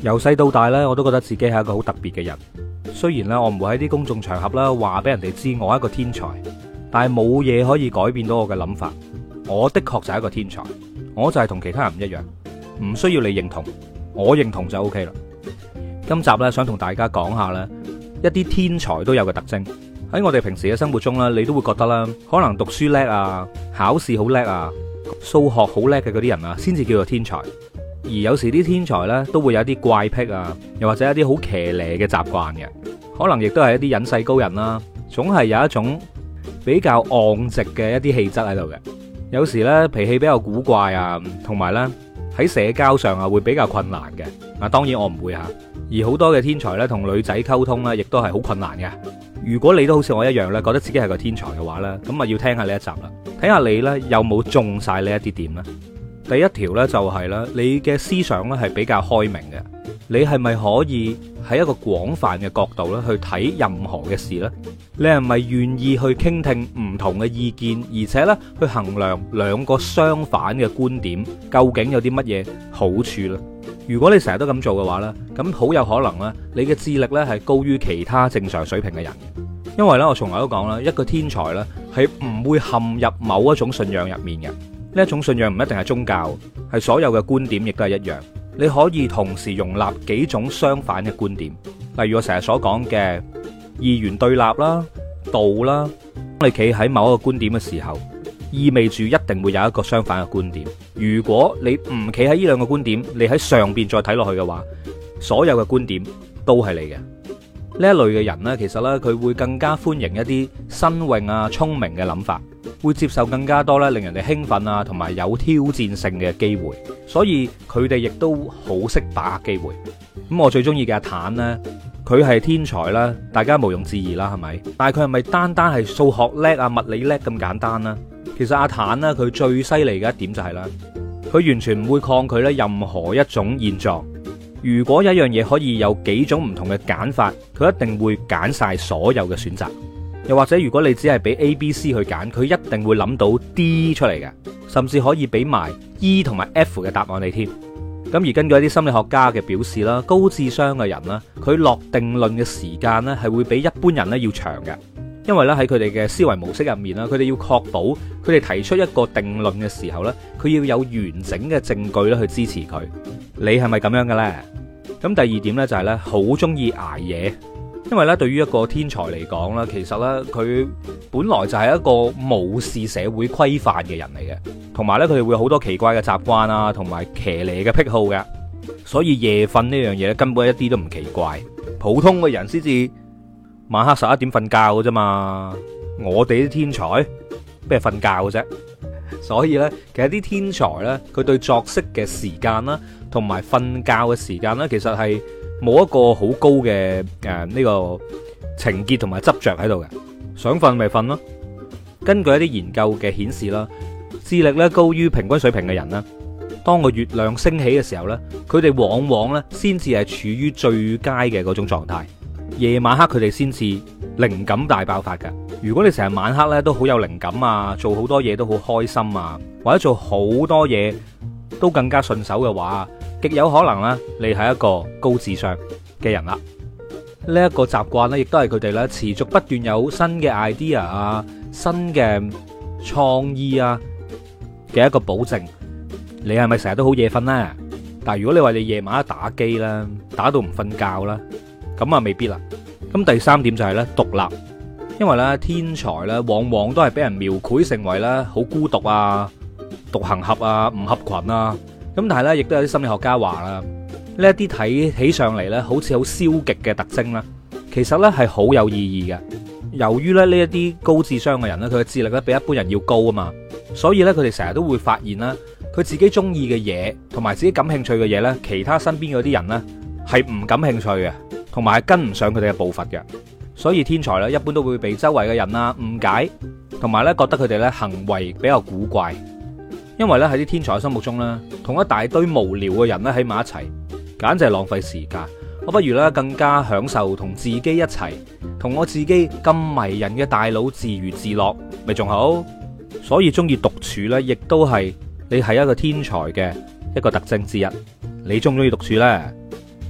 由細到大呢，我都覺得自己係一個好特別嘅人。雖然呢，我唔會喺啲公眾場合啦話俾人哋知我係一個天才，但係冇嘢可以改變到我嘅諗法。我的確就係一個天才，我就係同其他人唔一樣，唔需要你認同，我認同就 OK 啦。今集呢，想同大家講下呢一啲天才都有嘅特徵。喺我哋平時嘅生活中呢，你都會覺得啦，可能讀書叻啊，考試好叻啊，數學好叻嘅嗰啲人啊，先至叫做天才。而有時啲天才呢，都會有一啲怪癖啊，又或者一啲好騎呢嘅習慣嘅，可能亦都係一啲隱世高人啦，總係有一種比較昂直嘅一啲氣質喺度嘅。有時呢，脾氣比較古怪啊，同埋呢，喺社交上啊會比較困難嘅。啊，當然我唔會吓。而好多嘅天才呢，同女仔溝通呢，亦都係好困難嘅。如果你都好似我一樣呢，覺得自己係個天才嘅話呢，咁啊要聽下呢一集啦，睇下你呢有冇中晒呢一啲點呢？第一條呢，就係啦，你嘅思想呢係比較開明嘅，你係咪可以喺一個廣泛嘅角度咧去睇任何嘅事呢？你係咪願意去傾聽唔同嘅意見，而且呢去衡量兩個相反嘅觀點究竟有啲乜嘢好處呢？如果你成日都咁做嘅話呢，咁好有可能呢，你嘅智力呢係高於其他正常水平嘅人。因為呢，我從來都講啦，一個天才呢係唔會陷入某一種信仰入面嘅。呢一種信仰唔一定係宗教，係所有嘅觀點亦都係一樣。你可以同時容納幾種相反嘅觀點，例如我成日所講嘅二元對立啦、道啦。當你企喺某一個觀點嘅時候，意味住一定會有一個相反嘅觀點。如果你唔企喺呢兩個觀點，你喺上邊再睇落去嘅話，所有嘅觀點都係你嘅。呢一類嘅人呢，其實呢，佢會更加歡迎一啲新穎啊、聰明嘅諗法，會接受更加多咧令人哋興奮啊同埋有挑戰性嘅機會，所以佢哋亦都好識把握機會。咁我最中意嘅阿坦呢，佢係天才啦，大家毋庸置疑啦，係咪？但係佢係咪單單係數學叻啊、物理叻咁簡單呢？其實阿坦呢，佢最犀利嘅一點就係啦，佢完全唔會抗拒咧任何一種現狀。如果有一樣嘢可以有幾種唔同嘅揀法，佢一定會揀晒所有嘅選擇。又或者如果你只係俾 A、B、C 去揀，佢一定會諗到 D 出嚟嘅，甚至可以俾埋 E 同埋 F 嘅答案你添。咁而根據一啲心理學家嘅表示啦，高智商嘅人啦，佢落定論嘅時間咧係會比一般人咧要長嘅，因為咧喺佢哋嘅思維模式入面啦，佢哋要確保佢哋提出一個定論嘅時候咧，佢要有完整嘅證據咧去支持佢。你係咪咁樣嘅咧？咁第二點咧就係咧好中意捱夜。因為咧，對於一個天才嚟講咧，其實咧佢本來就係一個無視社會規範嘅人嚟嘅，同埋咧佢哋會好多奇怪嘅習慣啊，同埋騎呢嘅癖好嘅，所以夜瞓呢樣嘢咧根本一啲都唔奇怪。普通嘅人先至晚黑11點瞓覺嘅啫嘛，我哋啲天才邊係瞓覺嘅啫。所以咧，其實啲天才咧，佢對作息嘅時間啦，同埋瞓覺嘅時間咧，其實係冇一個好高嘅呢個情結同埋執着喺度嘅，想瞓咪瞓咯。根據一啲研究嘅顯示啦，智力咧高於平均水平嘅人啦，當個月亮升起嘅時候咧，佢哋往往咧先至係處於最佳嘅嗰種狀態。夜晚黑佢哋先至靈感大爆發㗎。如果你成日晚黑咧都好有靈感啊，做好多嘢都好開心啊，或者做好多嘢都更加順手嘅話，極有可能咧你係一個高智商嘅人啦。呢一個習慣咧，亦都係佢哋咧持續不斷有新嘅 idea 啊、新嘅創意啊嘅一個保證。你係咪成日都好夜瞓呢？但係如果你話你夜晚黑打機啦，打到唔瞓覺啦，咁啊未必啦。咁第三點就係咧獨立，因為咧天才咧往往都係俾人描繪成為咧好孤獨啊、獨行俠啊、唔合群啊。咁但係咧亦都有啲心理學家話啦，呢一啲睇起上嚟咧好似好消極嘅特徵啦，其實咧係好有意義嘅。由於咧呢一啲高智商嘅人咧，佢嘅智力咧比一般人要高啊嘛，所以咧佢哋成日都會發現啦，佢自己中意嘅嘢同埋自己感興趣嘅嘢咧，其他身邊嗰啲人咧係唔感興趣嘅，同埋係跟唔上佢哋嘅步伐嘅。所以天才咧一般都會被周圍嘅人啊誤解，同埋咧覺得佢哋咧行為比較古怪。因為咧喺啲天才嘅心目中咧，同一大堆無聊嘅人咧喺埋一齊，簡直係浪費時間。我不如咧更加享受同自己一齊，同我自己咁迷人嘅大佬自娛自樂，咪仲好。所以中意獨處咧，亦都係你係一個天才嘅一個特徵之一。你中唔中意獨處呢？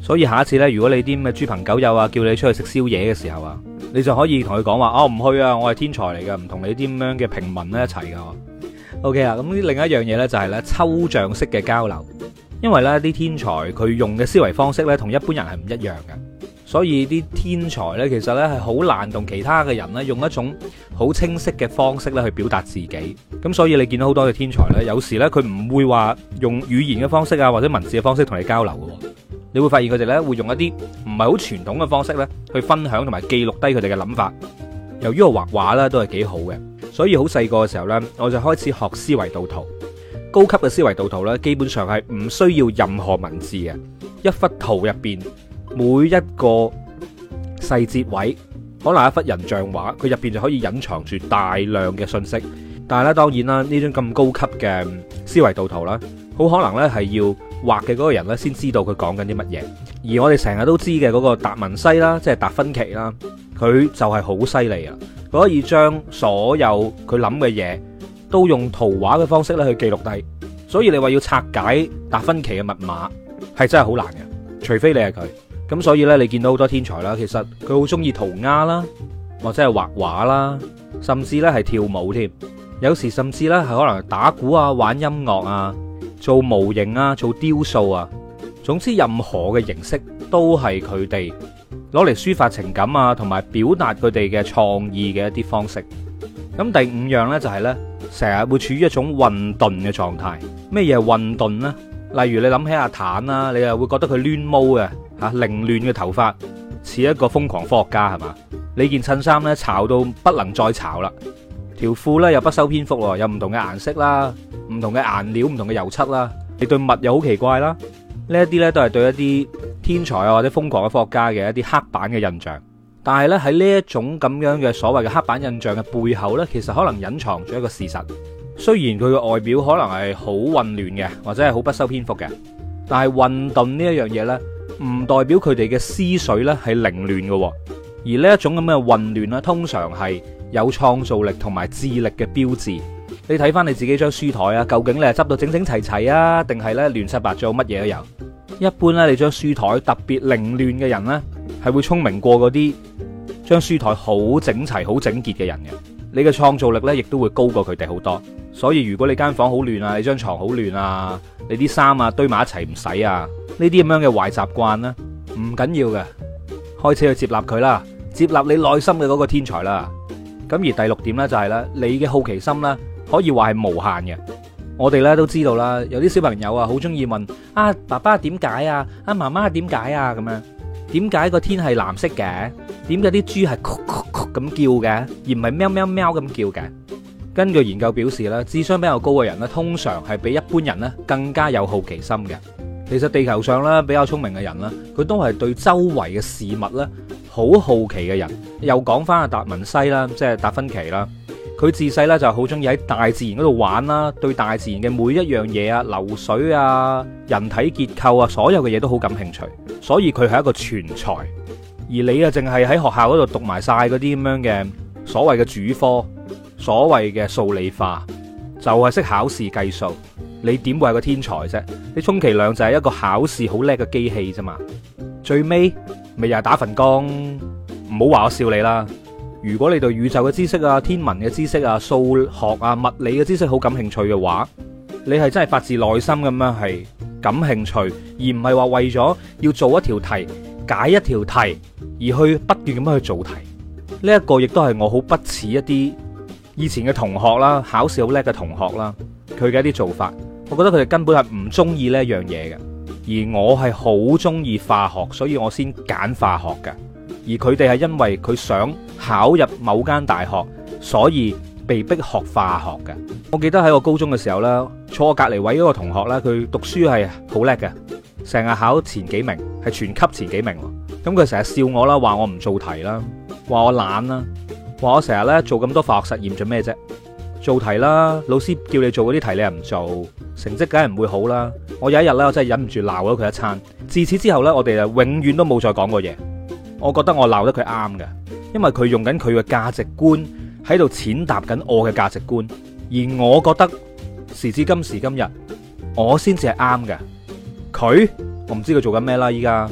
所以下一次呢，如果你啲咩豬朋狗友啊叫你出去食宵夜嘅時候啊，你就可以同佢講話，哦，唔去啊，我係天才嚟噶，唔同你啲咁樣嘅平民咧一齊噶。OK 啊，咁另一樣嘢呢，就係呢抽象式嘅交流，因為呢啲天才佢用嘅思維方式呢，同一般人係唔一樣嘅，所以啲天才呢，其實呢係好難同其他嘅人呢用一種好清晰嘅方式呢去表達自己。咁所以你見到好多嘅天才呢，有時呢，佢唔會話用語言嘅方式啊或者文字嘅方式同你交流嘅，你會發現佢哋呢會用一啲唔係好傳統嘅方式呢去分享同埋記錄低佢哋嘅諗法。由於我畫畫呢都係幾好嘅，所以好細個嘅時候呢，我就開始學思維導圖。高級嘅思維導圖呢，基本上係唔需要任何文字嘅，一幅圖入邊每一個細節位，可能一幅人像畫，佢入邊就可以隱藏住大量嘅信息。但係咧，當然啦，呢種咁高級嘅思維導圖啦，好可能呢係要畫嘅嗰個人呢先知道佢講緊啲乜嘢。而我哋成日都知嘅嗰個達文西啦，即係達芬奇啦，佢就係好犀利啊！佢可以將所有佢諗嘅嘢都用圖畫嘅方式咧去記錄低。所以你話要拆解達芬奇嘅密碼係真係好難嘅，除非你係佢。咁所以呢，你見到好多天才啦，其實佢好中意塗鴉啦，或者係畫畫啦，甚至呢係跳舞添。有時甚至呢係可能打鼓啊、玩音樂啊、做模型啊、做雕塑啊。總之任何嘅形式都係佢哋攞嚟抒發情感啊，同埋表達佢哋嘅創意嘅一啲方式。咁第五樣呢，就係呢，成日會處於一種混沌嘅狀態。咩嘢係混沌呢？例如你諗起阿坦啦，你又會覺得佢亂毛嘅吓，凌亂嘅頭髮似一個瘋狂科學家係嘛？你件襯衫呢，潮到不能再潮啦，條褲呢又不修邊幅，有唔同嘅顏色啦，唔同嘅顏料，唔同嘅油漆啦，你對襪又好奇怪啦。呢一啲呢，都係對一啲天才啊或者瘋狂嘅科學家嘅一啲刻板嘅印象。但係咧，喺呢一種咁樣嘅所謂嘅刻板印象嘅背後呢，其實可能隱藏咗一個事實。雖然佢嘅外表可能係好混亂嘅，或者係好不修邊幅嘅，但係混沌呢一樣嘢呢，唔代表佢哋嘅思緒呢係凌亂嘅。而呢一種咁嘅混亂呢，通常係有創造力同埋智力嘅標誌。你睇翻你自己張書台啊，究竟你係執到整整齊齊啊，定係呢亂七八糟乜嘢都有？一般呢，你張書台特別凌亂嘅人呢，係會聰明過嗰啲將書台好整齊、好整潔嘅人嘅。你嘅創造力呢，亦都會高過佢哋好多。所以如果你間房好亂啊，你張床好亂啊，你啲衫啊堆埋一齊唔洗啊，呢啲咁樣嘅壞習慣呢，唔緊要嘅，開始去接納佢啦，接納你內心嘅嗰個天才啦。咁而第六點呢，就係咧，你嘅好奇心呢，可以話係無限嘅。我哋咧都知道啦，有啲小朋友啊，好中意問啊，爸爸點解啊，啊媽媽點解啊，咁樣，點解個天係藍色嘅？點解啲豬係咕咕咕咁叫嘅，而唔係喵喵喵咁叫嘅？根據研究表示咧，智商比較高嘅人咧，通常係比一般人咧更加有好奇心嘅。其實地球上咧比較聰明嘅人咧，佢都係對周圍嘅事物咧好好奇嘅人。又講翻阿達文西啦，即係達芬奇啦。佢自細咧就好中意喺大自然嗰度玩啦，對大自然嘅每一樣嘢啊、流水啊、人體結構啊，所有嘅嘢都好感興趣，所以佢係一個全才。而你啊，淨係喺學校嗰度讀埋晒嗰啲咁樣嘅所謂嘅主科，所謂嘅數理化，就係識考試計數，你點會係個天才啫？你充其量就係一個考試好叻嘅機器啫嘛。最尾咪又係打份工，唔好話我笑你啦。如果你對宇宙嘅知識啊、天文嘅知識啊、數學啊、物理嘅知識好感興趣嘅話，你係真係發自內心咁樣係感興趣，而唔係話為咗要做一條題、解一條題而去不斷咁樣去做題。呢一個亦都係我好不似一啲以前嘅同學啦，考試好叻嘅同學啦，佢嘅一啲做法，我覺得佢哋根本係唔中意呢一樣嘢嘅。而我係好中意化學，所以我先揀化學嘅。而佢哋係因為佢想考入某間大學，所以被逼學化學嘅。我記得喺我高中嘅時候呢，坐我隔離位嗰個同學呢，佢讀書係好叻嘅，成日考前幾名，係全級前幾名。咁佢成日笑我啦，話我唔做題啦，話我懶啦，話我成日呢做咁多化學實驗做咩啫？做題啦，老師叫你做嗰啲題你又唔做，成績梗係唔會好啦。我有一日呢，我真係忍唔住鬧咗佢一餐。自此之後呢，我哋就永遠都冇再講過嘢。我覺得我鬧得佢啱嘅，因為佢用緊佢嘅價值觀喺度踐踏緊我嘅價值觀，而我覺得時至今時今日，我先至係啱嘅。佢我唔知佢做緊咩啦，依家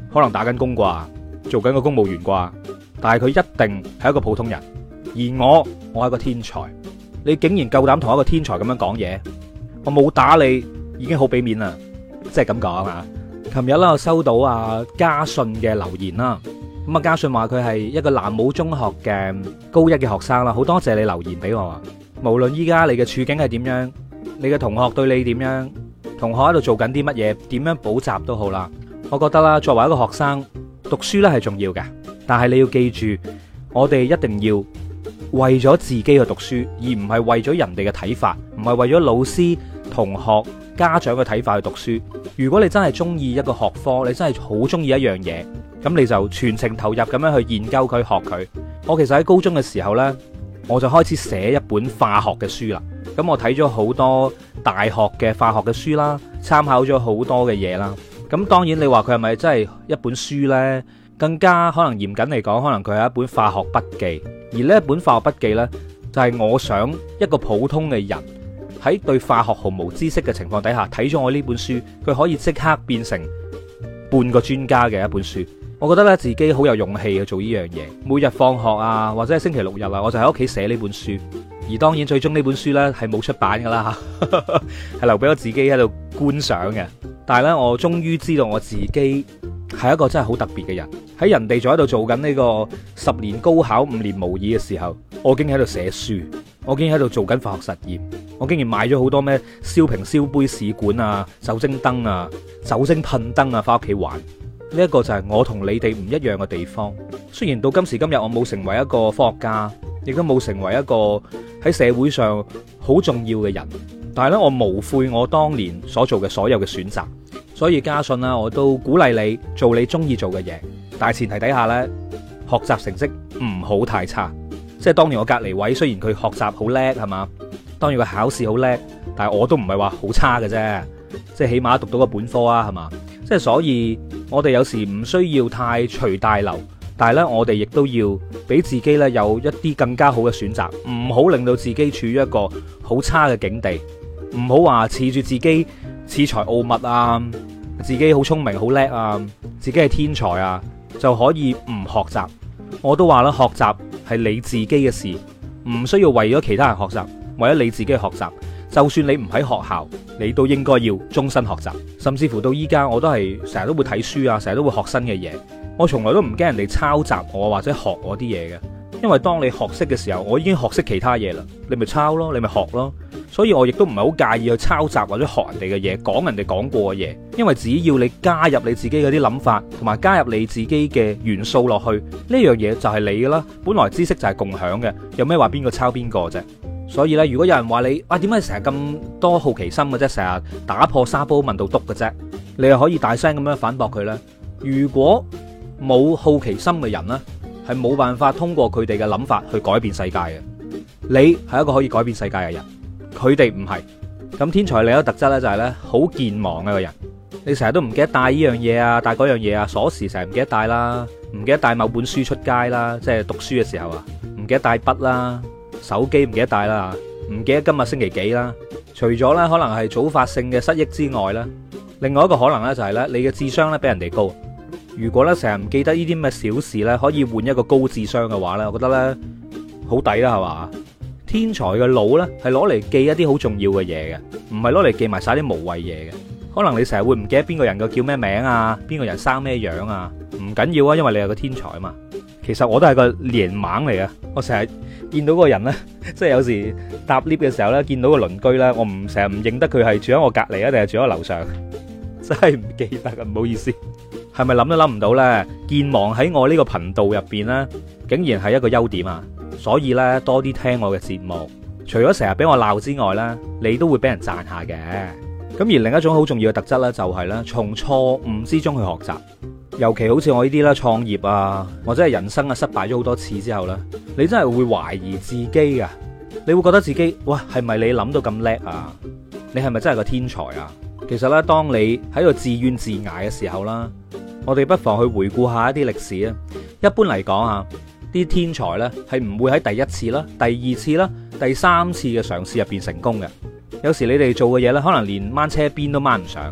可能打緊工啩，做緊個公務員啩，但係佢一定係一個普通人。而我係一個天才，你竟然夠膽同一個天才咁樣講嘢，我冇打你已經好俾面啦，即係咁講啊！琴日啦，我收到阿嘉信嘅留言啦，咁啊嘉信話佢係一個南武中學嘅高一嘅學生啦，好多謝你留言俾我啊！無論依家你嘅處境係點樣，你嘅同學對你點樣，同學喺度做緊啲乜嘢，點樣補習都好啦，我覺得啦，作為一個學生，讀書咧係重要嘅，但係你要記住，我哋一定要為咗自己去讀書，而唔係為咗人哋嘅睇法，唔係為咗老師、同學、家長嘅睇法去讀書。如果你真係中意一個學科，你真係好中意一樣嘢，咁你就全程投入咁樣去研究佢、學佢。我其實喺高中嘅時候呢，我就開始寫一本化學嘅書啦。咁我睇咗好多大學嘅化學嘅書啦，參考咗好多嘅嘢啦。咁當然你話佢係咪真係一本書呢？更加可能嚴謹嚟講，可能佢係一本化學筆記。而呢一本化學筆記呢，就係我想一個普通嘅人喺對化學毫無知識嘅情況底下睇咗我呢本書，佢可以即刻變成半個專家嘅一本書。我覺得咧自己好有勇氣去做呢樣嘢。每日放學啊，或者係星期六日啊，我就喺屋企寫呢本書。而當然最終呢本書呢係冇出版噶啦，係留俾我自己喺度觀賞嘅。但係呢，我終於知道我自己係一個真係好特別嘅人。喺人哋仲喺度做緊呢個10年高考5年模擬嘅時候，我竟然喺度寫書，我竟然喺度做緊化學實驗，我竟然買咗好多咩燒瓶、燒杯、試管啊、酒精燈啊、酒精噴燈啊，翻屋企玩。呢一個就係我同你哋唔一樣嘅地方。雖然到今時今日我冇成為一個科學家，亦都冇成為一個喺社會上好重要嘅人，但係咧我無悔我當年所做嘅所有嘅選擇。所以嘉信啦，我都鼓勵你做你中意做嘅嘢，但係前提底下呢，學習成績唔好太差。即係當年我隔離位，雖然佢學習好叻係嘛，當然佢考試好叻，但係我都唔係話好差嘅啫。即係起碼讀到個本科啊，係嘛？即係所以我哋有時唔需要太隨大流，但係呢，我哋亦都要俾自己呢有一啲更加好嘅選擇，唔好令到自己處於一個好差嘅境地，唔好話恃住自己恃才傲物啊，自己好聰明好叻啊，自己係天才啊，就可以唔學習。我都話啦，學習係你自己嘅事，唔需要為咗其他人學習，為咗你自己去學習。就算你唔喺學校，你都應該要終身學習。甚至乎到依家，我都係成日都會睇書啊，成日都會學新嘅嘢。我從來都唔驚人哋抄襲我或者學我啲嘢嘅，因為當你學識嘅時候，我已經學識其他嘢啦，你咪抄咯，你咪學咯。所以我亦都唔係好介意去抄襲或者學人哋嘅嘢，講人哋講過嘅嘢，因為只要你加入你自己嗰啲諗法，同埋加入你自己嘅元素落去，呢樣嘢就係你噶啦。本來知識就係共享嘅，有咩話邊個抄邊個啫？所以咧，如果有人話你點解成日咁多好奇心嘅啫，成日打破沙煲問到篤嘅啫，你又可以大聲咁樣反駁佢呢？如果冇好奇心嘅人呢，係冇辦法通過佢哋嘅諗法去改變世界嘅。你係一個可以改變世界嘅人，佢哋唔係。咁天才另一個特質呢，就係呢好健忘嘅個人，你成日都唔記得帶呢樣嘢啊，帶嗰樣嘢啊，鎖匙成日唔記得帶啦，唔記得帶某本書出街啦，即係讀書嘅時候啊，唔記得帶筆啦。手機唔記得帶啦，唔記得今日星期幾啦。除咗咧可能係早發性嘅失憶之外咧，另外一個可能咧就係咧你嘅智商咧比人哋高。如果咧成日唔記得呢啲咁嘅小事咧，可以換一個高智商嘅話咧，我覺得咧好抵啦，係嘛？天才嘅腦咧係攞嚟記一啲好重要嘅嘢嘅，唔係攞嚟記埋晒啲無謂嘢嘅。可能你成日會唔記得邊個人嘅叫咩名啊，邊個人生咩樣啊，唔緊要啊，因為你係個天才啊嘛。其實我都係個臉盲嚟嘅，我成日見到嗰個人呢，即係有時搭 lift 嘅時候呢，見到個鄰居呢，我唔成日唔認得佢係住喺我隔離啊，定係住喺我樓上，真係唔記得啊，唔好意思。係咪諗都諗唔到呢？健忘喺我呢個頻道入邊呢，竟然係一個優點啊！所以呢，多啲聽我嘅節目，除咗成日俾我鬧之外呢，你都會俾人讚下嘅。咁而另一種好重要嘅特質呢，就係呢：從錯誤之中去學習。尤其好似我呢啲啦，創業啊，或者係人生啊失敗咗好多次之後呢，你真係會懷疑自己噶，你會覺得自己，哇，係咪你諗到咁叻啊？你係咪真係個天才啊？其實呢，當你喺度自怨自艾嘅時候啦，我哋不妨去回顧下一啲歷史啊。一般嚟講啊，啲天才呢係唔會喺第一次啦、第二次啦、第三次嘅嘗試入邊成功嘅。有時你哋做嘅嘢呢，可能連掹車邊都掹唔上。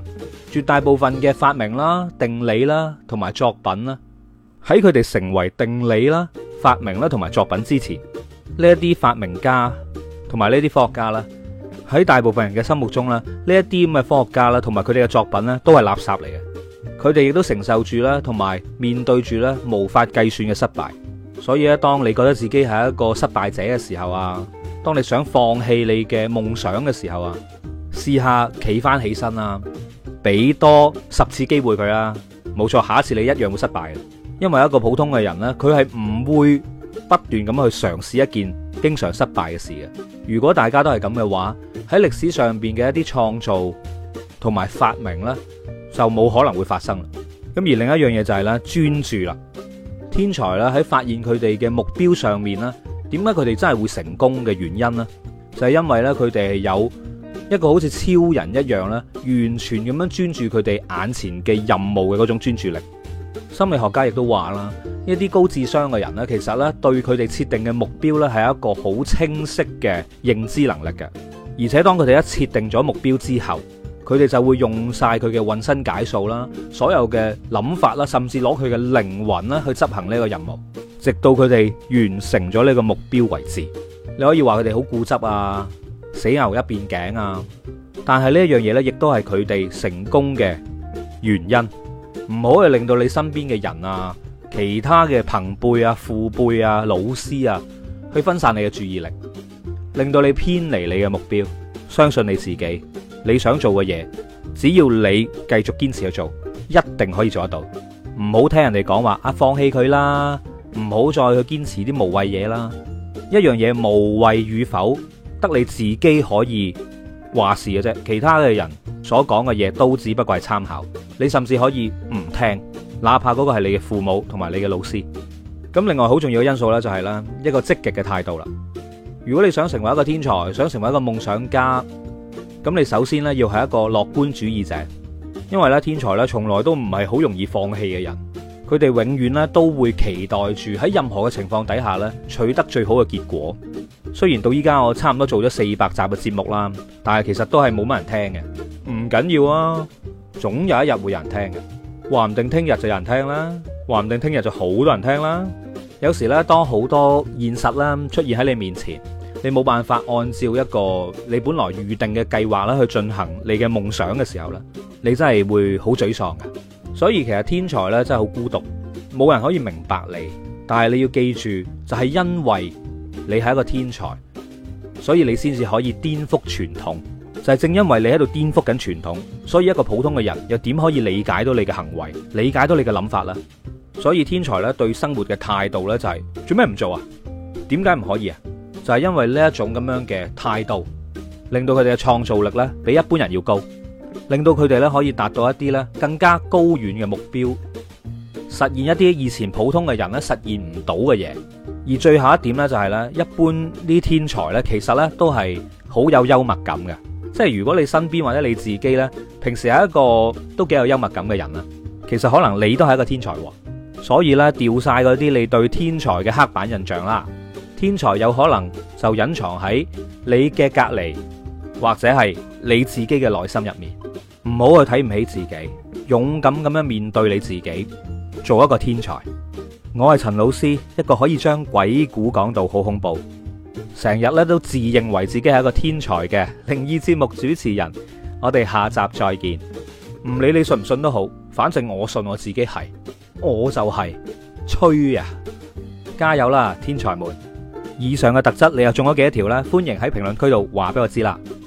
絕大部分嘅發明啦、定理啦同埋作品啦，喺佢哋成為定理啦、發明啦同埋作品之前，呢一啲發明家同埋呢啲科學家啦，喺大部分人嘅心目中啦，呢一啲咁嘅科學家啦同埋佢哋嘅作品咧，都係垃圾嚟嘅。佢哋亦都承受住啦，同埋面對住咧無法計算嘅失敗。所以咧，當你覺得自己係一個失敗者嘅時候啊，當你想放棄你嘅夢想嘅時候啊，試下企翻起身啦，俾多10次機會佢啦。冇錯，下一次你一樣會失敗嘅。因為一個普通嘅人呢，佢係唔會不斷咁去嘗試一件經常失敗嘅事嘅。如果大家都係咁嘅話，喺歷史上邊嘅一啲創造同埋發明呢，就冇可能會發生。咁而另一樣嘢就係咧專注啦。天才咧喺發現佢哋嘅目標上面咧，點解佢哋真係會成功嘅原因呢？就係因為咧佢哋係有一個好似超人一樣咧，完全咁樣專注佢哋眼前嘅任務嘅嗰種專注力。心理學家亦都話啦，一啲高智商嘅人咧，其實咧對佢哋設定嘅目標咧係一個好清晰嘅認知能力嘅，而且當佢哋一設定咗目標之後，佢哋就會用晒佢嘅渾身解數啦，所有嘅諗法啦，甚至攞佢嘅靈魂啦去執行呢個任務，直到佢哋完成咗呢個目標為止。你可以話佢哋好固執啊，死牛一邊頸啊，但係呢一樣嘢呢，亦都係佢哋成功嘅原因。唔好去令到你身邊嘅人啊、其他嘅朋輩啊、父輩啊、老師啊，去分散你嘅注意力，令到你偏離你嘅目標。相信你自己。你想做嘅嘢，只要你繼續堅持去做，一定可以做得到。唔好聽人哋講話放棄佢啦，唔好再去堅持啲無謂嘢啦。一樣嘢無謂與否，得你自己可以話事嘅啫。其他嘅人所講嘅嘢都只不過係參考，你甚至可以唔聽，哪怕嗰個係你嘅父母同埋你嘅老師。咁另外好重要嘅因素呢，就係啦一個積極嘅態度啦。如果你想成為一個天才，想成為一個夢想家，咁你首先咧要係一個樂觀主義者，因為咧天才咧從來都唔係好容易放棄嘅人，佢哋永遠咧都會期待住喺任何嘅情況底下咧取得最好嘅結果。雖然到依家我差唔多做咗400集嘅節目啦，但係其實都係冇乜人聽嘅。唔緊要啊，總有一日會有人聽嘅，話唔定聽日就有人聽啦，話唔定聽日就好多人聽啦。有時咧當好多現實啦出現喺你面前，你冇辦法按照一個你本來預定嘅計劃啦去進行你嘅夢想嘅時候咧，你真係會好沮喪嘅。所以其實天才咧真係好孤獨，冇人可以明白你。但係你要記住，就係因為你係一個天才，所以你先至可以顛覆傳統。就係正因為你喺度顛覆緊傳統，所以一個普通嘅人又點可以理解到你嘅行為，理解到你嘅諗法呢？所以天才咧對生活嘅態度咧就係做咩唔做啊？點解唔可以啊？就係因為呢一種咁樣嘅態度，令到佢哋嘅創造力咧比一般人要高，令到佢哋咧可以達到一啲咧更加高遠嘅目標，實現一啲以前普通嘅人咧實現唔到嘅嘢。而最後一點咧就係咧，一般啲天才咧其實咧都係好有幽默感嘅，即係如果你身邊或者你自己咧平時係一個都幾有幽默感嘅人啦，其實可能你都係一個天才喎。所以咧掉晒嗰啲你對天才嘅刻板印象啦。天才有可能就隱藏喺你嘅隔離，或者係你自己嘅內心入面。唔好去睇唔起自己，勇敢咁樣面對你自己，做一個天才。我係陳老師，一個可以將鬼故講到好恐怖，成日咧都自認為自己係一個天才嘅靈異節目主持人。我哋下集再見。唔理你信唔信都好，反正我信我自己係，我就係吹啊！加油啦，天才們！以上嘅特質你又中咗幾多條呢？歡迎喺評論區度話俾我知啦。